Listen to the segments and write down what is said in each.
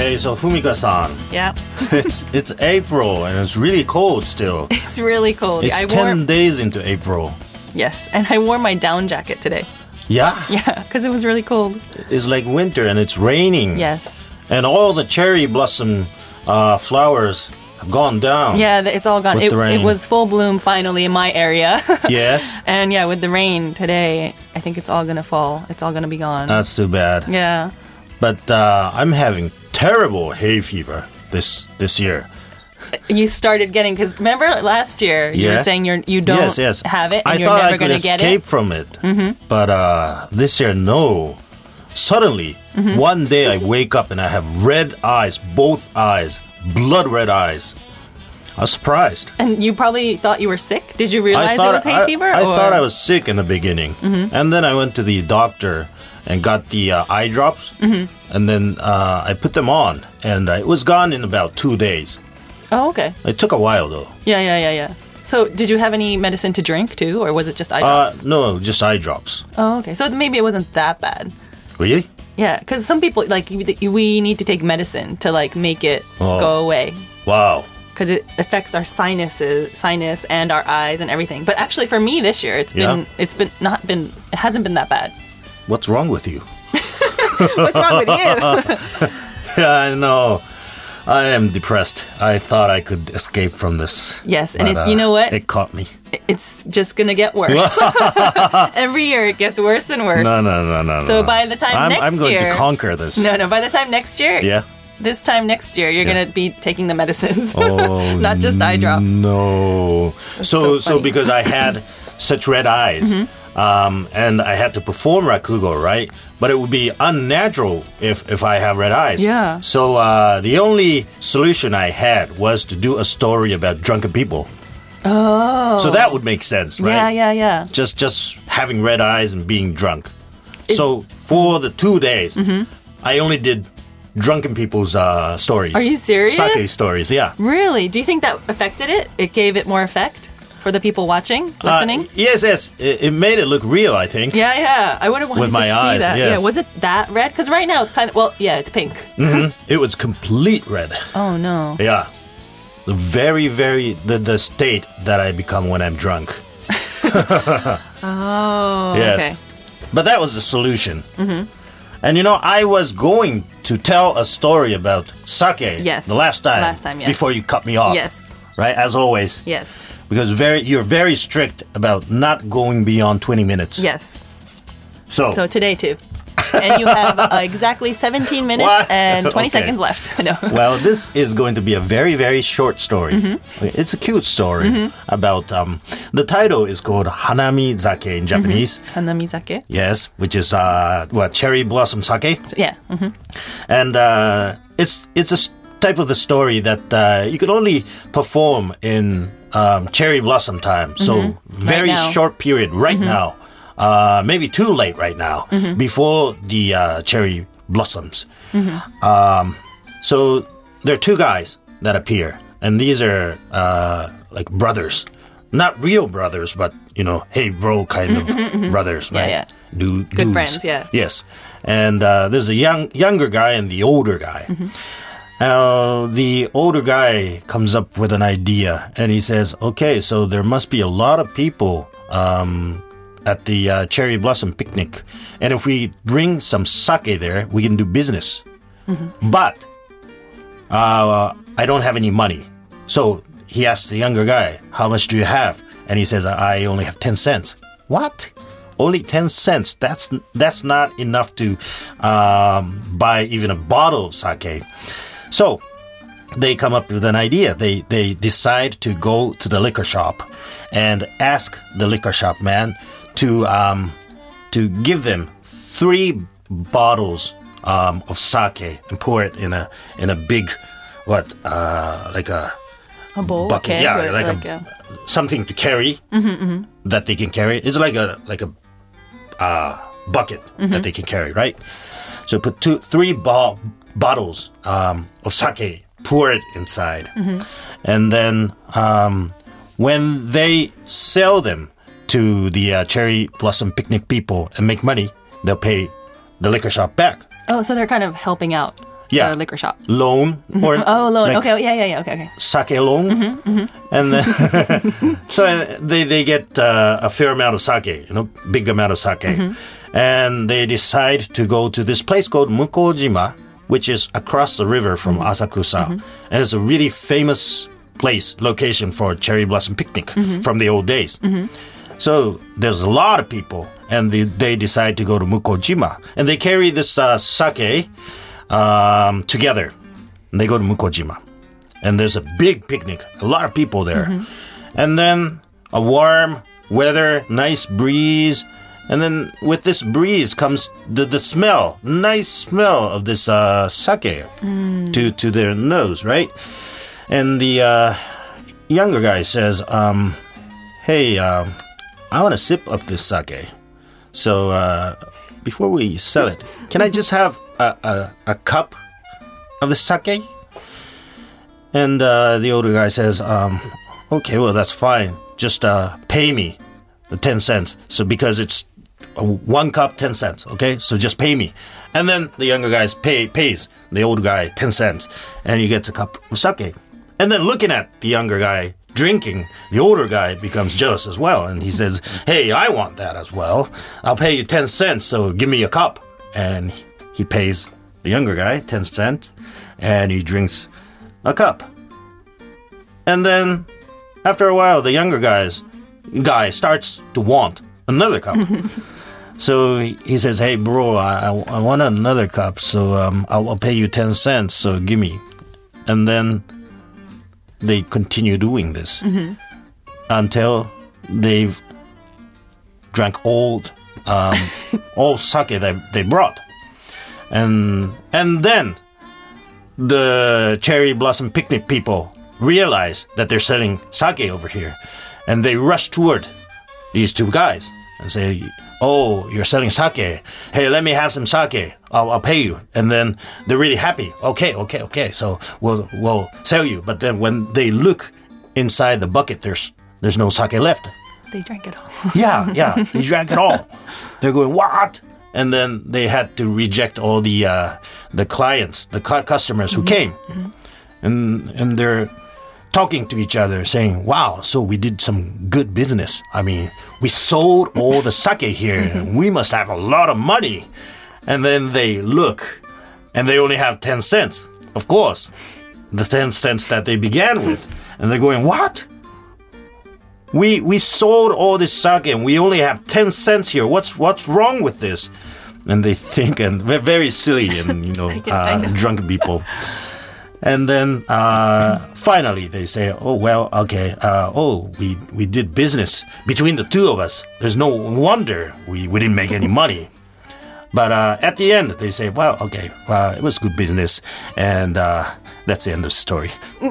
Hey, so Fumika-san, Yeah. it's April and it's really cold still. It's really cold. It's 10 days into April. Yes, and I wore my down jacket today. Yeah? Yeah, because it was really cold. It's like winter and it's raining. Yes. And all the cherry blossom flowers have gone down. Yeah, it's all gone. With the rain. It was full bloom finally in my area. Yes? And yeah, with the rain today, I think it's all going to fall. It's all going to be gone. That's too bad. Yeah. But I'm having terrible hay fever this year. You started getting, because remember last year you were Yes. saying you don't Yes. have it and I you're thought never I could going to get escape it. from it. But this year, no. Suddenly, one day I wake up and I have red eyes, both eyes, blood red eyes. I was surprised. And you probably thought you were sick? Did you realize it was hay fever? I or? thought I was sick in the beginning. And then I went to the doctor and got the eye drops. And then I put them on. And it was gone in about 2 days. Oh, okay. It took a while, though. Yeah. So did you have any medicine to drink too, or was it just eye drops? No, just eye drops. Oh, okay. So maybe it wasn't that bad. Really? Yeah, because some people, like, we need to take medicine to, like, make it go away. Wow. Because it affects our sinus and our eyes and everything. But actually, for me this year, it hasn't been that bad. What's wrong with you? What's wrong with you? Yeah, I know. I am depressed. I thought I could escape from this. Yes, and but, you know what? It caught me. It's just gonna get worse. Every year it gets worse and worse. No. So by the time I'm going to conquer this. No, by the time next year, Yeah. this time next year, you're gonna be taking the medicines, Oh, not just eye drops. No. so So funny. because I had such red eyes, and I had to perform rakugo, right? But it would be unnatural if I have red eyes. Yeah. So the only solution I had was to do a story about drunken people. Oh. So that would make sense, right? Yeah. Just having red eyes and being drunk. So for the 2 days, I only did drunken people's stories. Are you serious? Sake stories, yeah. Really? Do you think that affected it? It gave it more effect for the people watching, listening? Yes. It made it look real, I think. Yeah. I would have wanted With to my see eyes, that. yes. Yeah. Was it that red? Because right now it's kind of, it's pink. It was complete red. Oh no. Yeah. The very, the state that I become when I'm drunk. Oh. Yes. Okay. But that was the solution. And I was going to tell a story about sake Yes. the last time. Yes. Before you cut me off. Yes. Right? As always. Yes. Because you're very strict about not going beyond 20 minutes. Yes. So today too. And you have exactly 17 minutes What? and 20 Okay. seconds left. No. well, this is going to be a very, very short story. It's a cute story about, the title is called Hanami Zake in Japanese. Hanamizake. Yes, which is, cherry blossom sake. Yeah. And it's a type of the story that you can only perform in cherry blossom time. So very now. short period right now. Maybe too late right now before the cherry blossoms. So there are two guys that appear, and these are like brothers, not real brothers, but hey bro kind of brothers, right? Yeah. Dudes. Good friends, yeah. Yes, and there's a younger guy and the older guy. The older guy comes up with an idea, and he says, "Okay, so there must be a lot of people." At the cherry blossom picnic, and if we bring some sake there, we can do business. But I don't have any money, so he asks the younger guy, "How much do you have?" And he says, "I only have 10 cents." What? Only 10 cents? That's not enough to buy even a bottle of sake. So they come up with an idea. They decide to go to the liquor shop and ask the liquor shop man to give them 3 bottles of sake and pour it in a big like a bowl, bucket, okay, yeah, like a something to carry that they can carry. It's like a bucket that they can carry, right? So put 3 bottles of sake, pour it inside, and then when they sell them to the cherry blossom picnic people and make money, they'll pay the liquor shop back. Oh, so they're kind of helping out. Yeah. the liquor shop. Loan or Oh, loan. like Okay, yeah. Okay. sake loan, and then so they get a fair amount of sake, big amount of sake, and they decide to go to this place called Mukojima, which is across the river from Asakusa, and it's a really famous location for cherry blossom picnic from the old days. So there's a lot of people, and they decide to go to Mukojima, and they carry this sake together. And they go to Mukojima, and there's a big picnic, a lot of people there, and then a warm weather, nice breeze, and then with this breeze comes the smell, nice smell of this sake to their nose, right? And the younger guy says, "Hey, I want a sip of this sake. So before we sell it, can I just have a cup of the sake?" And the older guy says, "Okay, well, that's fine. Just pay me the 10 cents. So because it's 1 cup, 10 cents, okay? So just pay me." And then the younger guy pays the older guy 10 cents, and he gets a cup of sake. And then looking at the younger guy drinking, the older guy becomes jealous as well, and he says, "Hey, I want that as well. I'll pay you 10 cents, so give me a cup." And he pays the younger guy 10 cents, and he drinks a cup. And then, after a while, the younger guy starts to want another cup. So he says, "Hey, bro, I want another cup, so I'll pay you 10 cents, so give me." And then they continue doing this until they've drank all sake that they brought. And then the cherry blossom picnic people realize that they're selling sake over here, and they rush toward these two guys and say, "Oh, you're selling sake. Hey, let me have some sake. I'll pay you." And then they're really happy. Okay. So we'll sell you. But then when they look inside the bucket, there's no sake left. They drank it all. Yeah, they drank it all. They're going, "What?" And then they had to reject all the clients, the customers who came, and they're talking to each other, saying, "Wow, so we did some good business. I mean, we sold all the sake here, and we must have a lot of money." And then they look, and they only have 10 cents. Of course, the 10 cents that they began with. And they're going, "What? We sold all this sake, and we only have 10 cents here. What's wrong with this?" And they think, and they're very silly and, drunken people. And then finally they say, "Oh, well, okay. We did business between the two of us. There's no wonder we didn't make any money." But at the end, they say, "Well, okay, it was good business." And that's the end of the story.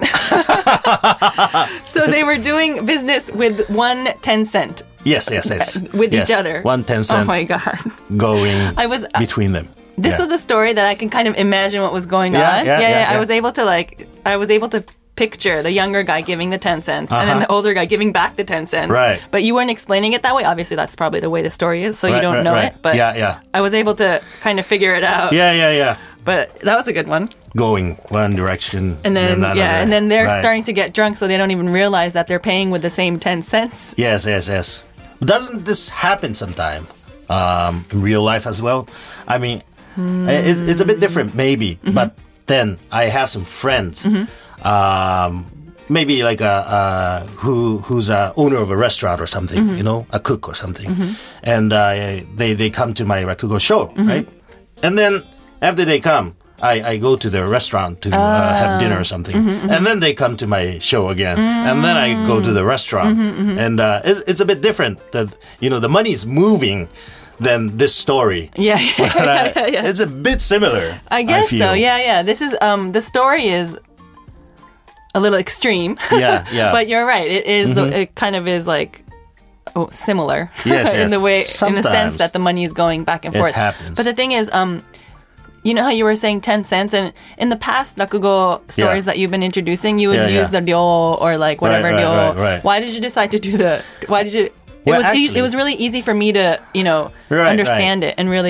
So they were doing business with 1 10 cent. Yes. With each other. 1 10 cent. Oh, my God. Going between them. This was a story that I can kind of imagine what was going on. Yeah. I was able to picture the younger guy giving the 10 cents and then the older guy giving back the 10 cents. Right. But you weren't explaining it that way. Obviously, that's probably the way the story is, so you don't know it. But I was able to kind of figure it out. Yeah. But that was a good one. Going one direction and then another. And then they're starting to get drunk, so they don't even realize that they're paying with the same 10 cents. Yes. Doesn't this happen sometime in real life as well? I mean, it's a bit different, maybe. But then I have some friends, maybe like who's a owner of a restaurant or something, a cook or something, and they come to my Rakugo show, right? And then after they come, I go to their restaurant to have dinner or something, and then they come to my show again, and then I go to the restaurant, and it's a bit different. That the money's moving than this story. Yeah. It's a bit similar. I guess so. Yeah. This is the story is a little extreme. Yeah. But you're right. It is. It kind of is like similar. Yes. in the way, Sometimes in the sense that the money is going back and forth. It happens. But the thing is, you know how you were saying 10 cents, and in the past rakugo stories that you've been introducing, you would use the ryo or like whatever ryo. Right. Why did you decide to do the? Why did you? Well, it was really easy for me to understand it and really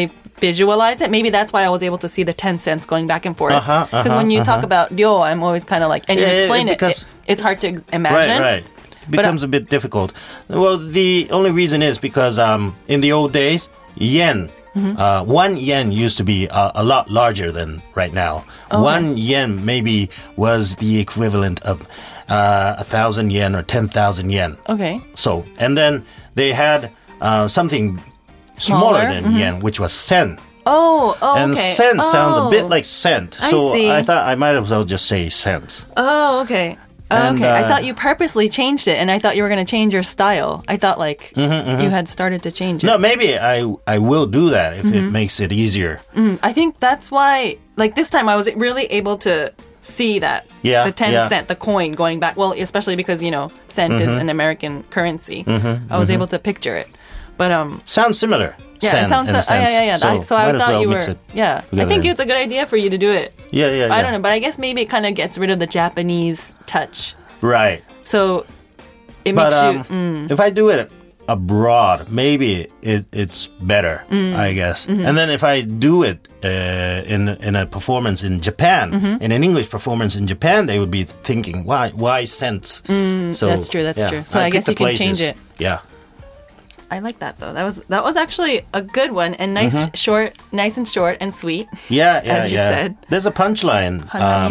visualize it. Maybe that's why I was able to see the 10 cents going back and forth. Because when you talk about ryo, I'm always kind of like, and you explain it's hard to imagine. Right. It becomes a bit difficult. Well, the only reason is because in the old days, yen, 1 yen used to be a lot larger than right now. 1 yen maybe was the equivalent of 1,000 yen or 10,000 yen. Okay. So, and then they had something smaller than yen, which was sen. And sen sounds a bit like cent. So I thought I might as well just say cents. Okay. Okay. I thought you purposely changed it, and I thought you were going to change your style. I thought you had started to change it. No, maybe I will do that if it makes it easier. I think that's why, like this time I was really able to see that. Yeah. The 10 cent, the coin going back. Well, especially because, cent is an American currency. I was able to picture it. But sounds similar. Yeah, it sounds So I thought you were. Yeah, I think it's a good idea for you to do it. Yeah. I don't know, but I guess maybe it kind of gets rid of the Japanese touch. Right. So it makes you. If I do it abroad, maybe it's better, I guess. And then if I do it in a performance in Japan, in an English performance in Japan, they would be thinking, why cents? So that's true. That's true. So I guess you can change it. Yeah. I like that though. That was actually a good one and nice and short and sweet. Yeah, as you said. There's a punchline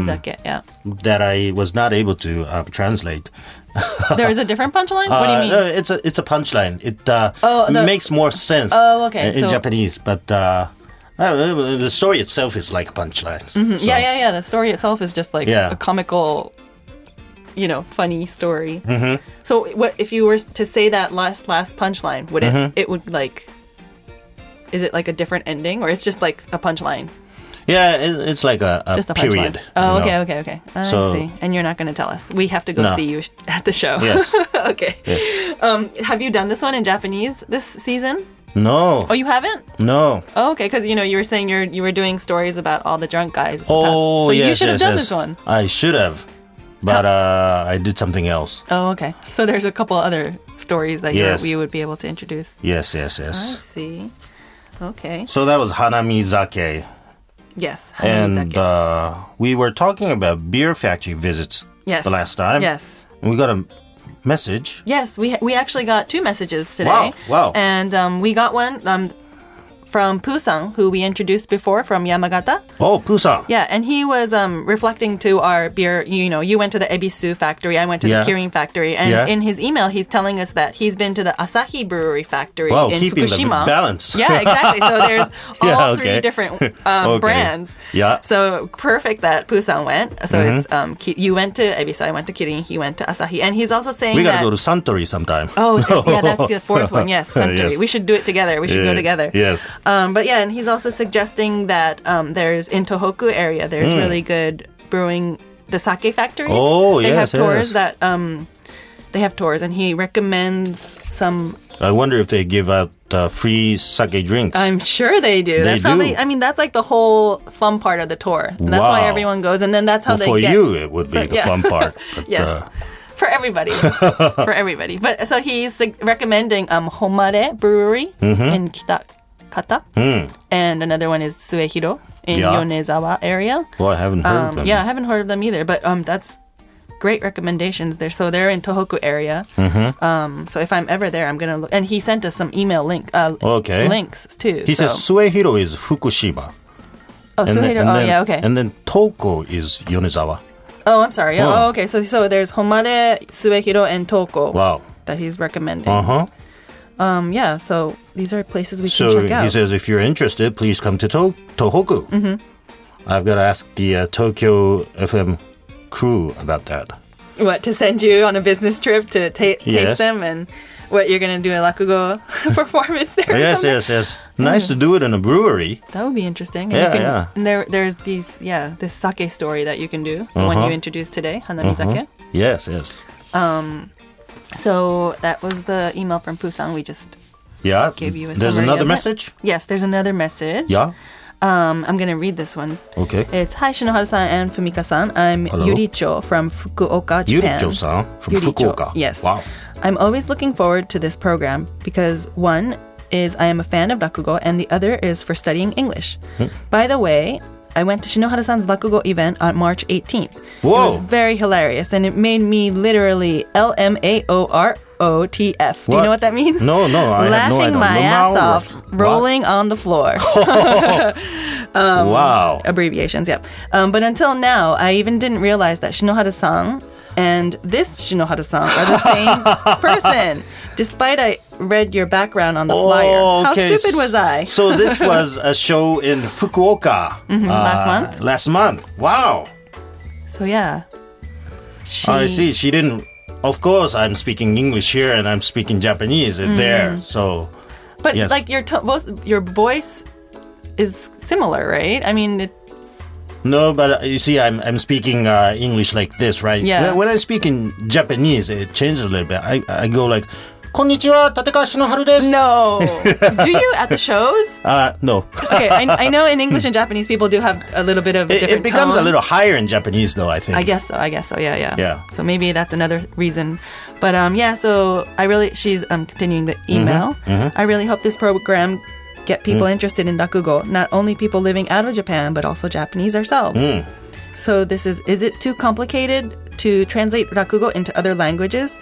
that I was not able to translate. There is a different punchline? What do you mean? No, it's a punchline. It makes more sense in Japanese, but the story itself is like a punchline. So. Yeah. The story itself is just like a comical, funny story. So what if you were to say that last punchline, would it would like, is it like a different ending or it's just like a punchline? Yeah, it's like a just a period. Okay. I see. And you're not going to tell us. We have to go see you at the show. Yes. Okay. Yes. Have you done this one in Japanese this season? No. Oh, you haven't? No. Oh, okay, because you were saying you were doing stories about all the drunk guys. So you should have done this one. I should have. But I did something else. Oh, okay. So there's a couple other stories that you would be able to introduce. Yes. I see. Okay. So that was Hanamizake. Yes, Hanamizake. And we were talking about beer factory visits the last time. Yes. And we got a message. Yes, we actually got 2 messages today. Wow. And we got one from Pusang, who we introduced before from Yamagata. Oh, Pusang. Yeah, and he was reflecting to our beer, you went to the Ebisu factory, I went to the Kirin factory, and in his email, he's telling us that he's been to the Asahi Brewery factory in keeping Fukushima. The balance. Yeah, exactly. So there's all 3 different brands. Yeah. So perfect that Pusang went. So it's you went to Ebisu, I went to Kirin, he went to Asahi, and he's also saying we gotta go to Suntory sometime. Oh, yeah, that's the 4th one. Yes, Suntory. Yes. We should do it together. We should go together. Yes. But yeah, and he's also suggesting that there's in Tohoku area, there's really good brewing, the sake factories. Oh, they have tours that they have tours, and he recommends some. I wonder if they give out free sake drinks. I'm sure they do. That's probably. I mean, that's like the whole fun part of the tour. And that's why everyone goes, and then that's how for you, it would be the fun part. But, yes. For everybody. For everybody. But so he's recommending Homare Brewery in Kitakata. And another one is Suehiro in Yonezawa area. Well, I haven't heard of them. Yeah, I haven't heard of them either. But that's great recommendations there. So they're in Tohoku area. So if I'm ever there, I'm going to look. And he sent us some email links too. He says Suehiro is Fukushima. Oh, Suehiro. Yeah, okay. And then Toko is Yonezawa. Oh, I'm sorry. Oh, okay. So there's Homare, Suehiro, and Toko. Wow. That he's recommending. Yeah, so these are places we can check out. So he says, if you're interested, please come to Tohoku. I've got to ask the Tokyo FM crew about that. What, to send you on a business trip to taste them? And what, you're going to do a rakugo performance there? Yes. Nice to do it in a brewery. That would be interesting. And And there's this sake story that you can do, the one you introduced today, Hanamizake. Yes. So that was the email from Pusang. We just gave you a summary. There's another message? Yes, there's another message. Yeah. I'm going to read this one. Okay. It's, hi, Shinoharu-san and Fumika-san. I'm Yuricho from Fukuoka, Japan. Yuricho-san from Fukuoka. Yes. Wow. I'm always looking forward to this program because, 1, is I am a fan of rakugo, and the other is for studying English. By the way, I went to Shinohara-san's rakugo event on March 18th. Whoa. It was very hilarious, and it made me literally LMAOROTF. Do you know what that means? No, I Laughing my ass off, rolling on the floor. Wow. Abbreviations, yeah. But until now, I even didn't realize that Shinohara-san and this Shinohara-san are the same person, despite I read your background on the flyer. How stupid was I? So this was a show in Fukuoka. Last month. Wow. So yeah. I see. She didn't... Of course, I'm speaking English here and I'm speaking Japanese there. So... But yes. like your voice is similar, right? I mean... No, but you see, I'm speaking English like this, right? Yeah. When I speak in Japanese, it changes a little bit. I go like, "Konnichiwa, Tatekawa Shinoharu desu." No. Do you at the shows? No. Okay, I know in English and Japanese people do have a little bit of a different It becomes tone. a little higher in Japanese, though, I think. I guess so, yeah. Yeah. So maybe that's another reason. But so she's continuing the email. I really hope this program get people interested in rakugo, not only people living out of Japan, but also Japanese ourselves. So this is it too complicated to translate rakugo into other languages?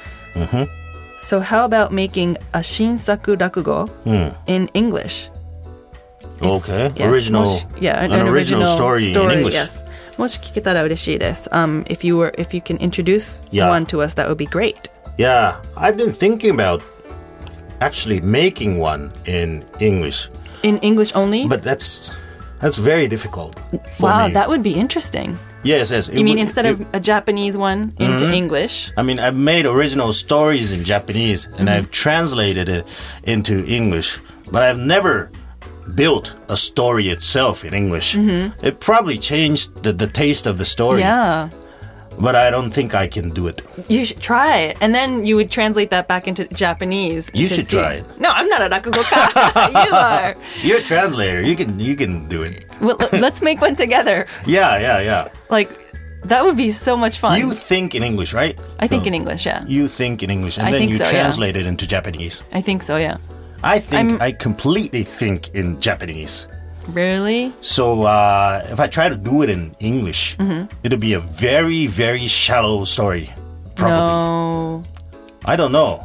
So how about making a shinsaku rakugo in English? Okay. Yes, Original story in English. Yes. もし聞けたら嬉しいです。If you can introduce one to us, that would be great. Yeah, I've been thinking about actually making one in English. In English only? But that's very difficult for wow, me. that would be interesting. Yes. You mean instead of a Japanese one into English? I mean, I've made original stories in Japanese and I've translated it into English, but I've never built a story itself in English. It probably changed the taste of the story. Yeah. But I don't think I can do it. You should try it. And then you would translate that back into Japanese. You should try it. No, I'm not a rakugoka. You are. You're a translator. You can do it. Well, let's make one together. Yeah. Like, that would be so much fun. You think in English, right? I think in English, yeah. You think in English, and then you translate it into Japanese. I think so, yeah. I think I completely think in Japanese. Really? So if I try to do it in English, it'll be a very, very shallow story. Probably. No. I don't know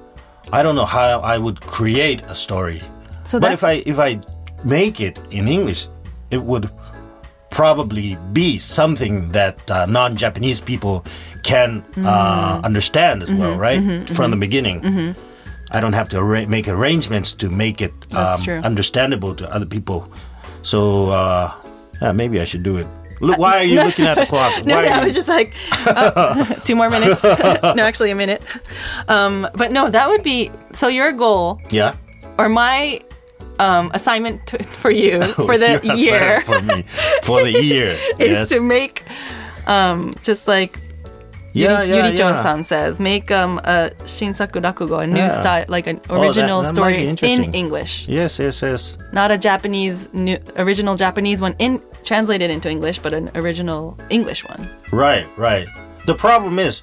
how I would create a story. So but if I make it in English, it would probably be something that non-Japanese people can understand as well, right? From the beginning. I don't have to make arrangements to make it understandable to other people. So maybe I should do it. Look, why are you looking at the clock? I was just like, 2 more minutes. No, actually a minute. But no, that would be, so your goal, or my assignment for you for the year, for the year, is to make just like Yuri-chan says, make a shinsaku rakugo, a new style, like an original story in English. Yes. Not a original Japanese one translated into English, but an original English one. Right. The problem is,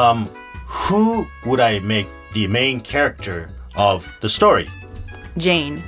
who would I make the main character of the story? Jane.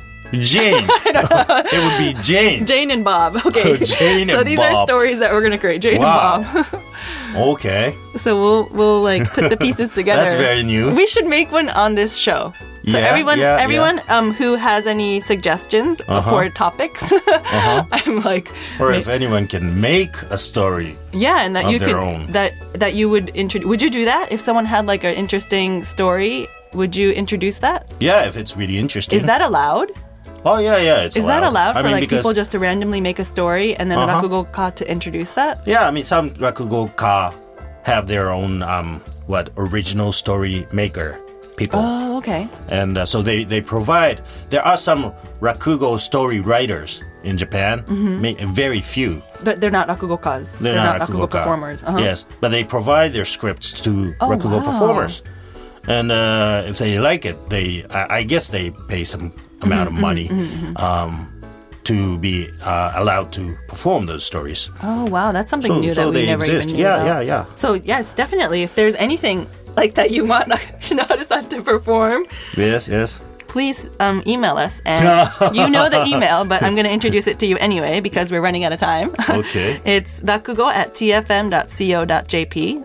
It would be Jane. Jane and Bob. Okay. So these are stories that we're going to create. Jane and Bob. Okay. So we'll like put the pieces together. That's very new. We should make one on this show. So everyone who has any suggestions for topics, I'm like, or if anyone can make a story, and that you could that you would introduce. Would you do that if someone had like an interesting story? Would you introduce that? Yeah, if it's really interesting. Is that allowed? Oh yeah, it's allowed. Is that allowed for people just to randomly make a story and then rakugoka to introduce that? Yeah, I mean some rakugoka have their own original story maker people. Oh, okay. And so they provide. There are some rakugo story writers in Japan, very few. But they're not rakugokas. They're not rakugo performers. Yes, but they provide their scripts to rakugo performers. And if they like it, I guess they pay some amount of money to be allowed to perform those stories. Oh, wow. That's something new that we never even knew about. Yeah. So, yes, definitely. If there's anything like that you want Shinohara-san to perform, yes, please email us. And you know the email, but I'm going to introduce it to you anyway because we're running out of time. Okay. It's rakugo@tfm.co.jp,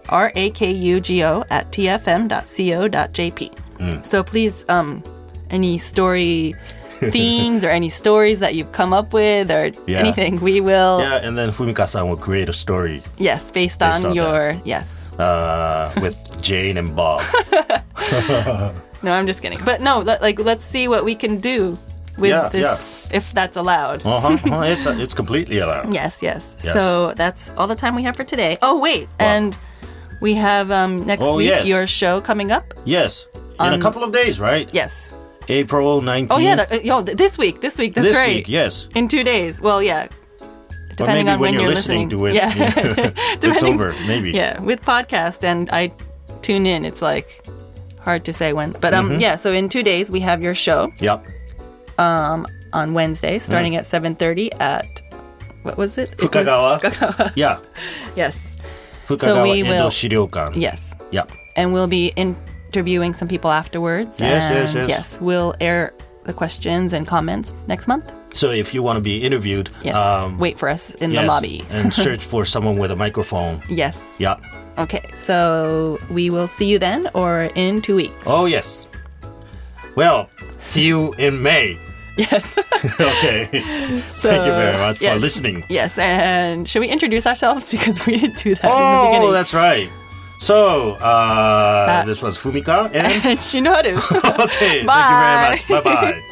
rakugo@tfm.co.jp. So please, any story themes or any stories that you've come up with or anything, we will... Yeah, and then Fumika-san will create a story. Yes, based on your... That. Yes. With Jane and Bob. No, I'm just kidding. But no, let's see what we can do with this, if that's allowed. It's completely allowed. Yes. So that's all the time we have for today. Oh, wait. What? And we have next week your show coming up. Yes. In a couple of days, right? Yes. April 19th. Oh, yeah. This week. That's right. This week, yes. In 2 days. Well, yeah. Depending on when you're listening to it. Yeah. It's over, maybe. Yeah. With podcast and I tune in, it's like hard to say when. But so in 2 days we have your show. Yep. On Wednesday, starting at 7:30 at, what was it? Fukagawa. Yeah. Yes. Fukagawa so we will. Shiryokan. Yes. Yep. And we'll be interviewing some people afterwards. Yes. Yes, we'll air the questions and comments next month. So if you want to be interviewed, wait for us in the lobby. And search for someone with a microphone. Yes. Yeah. Okay, so we will see you then or in 2 weeks. Oh, yes. Well, see you in May. Yes. Okay. So, thank you very much for listening. Yes, and should we introduce ourselves? Because we didn't do that in the beginning. Oh, that's right. So, this was Fumika and Shinoharu. Okay, thank you very much. Bye-bye.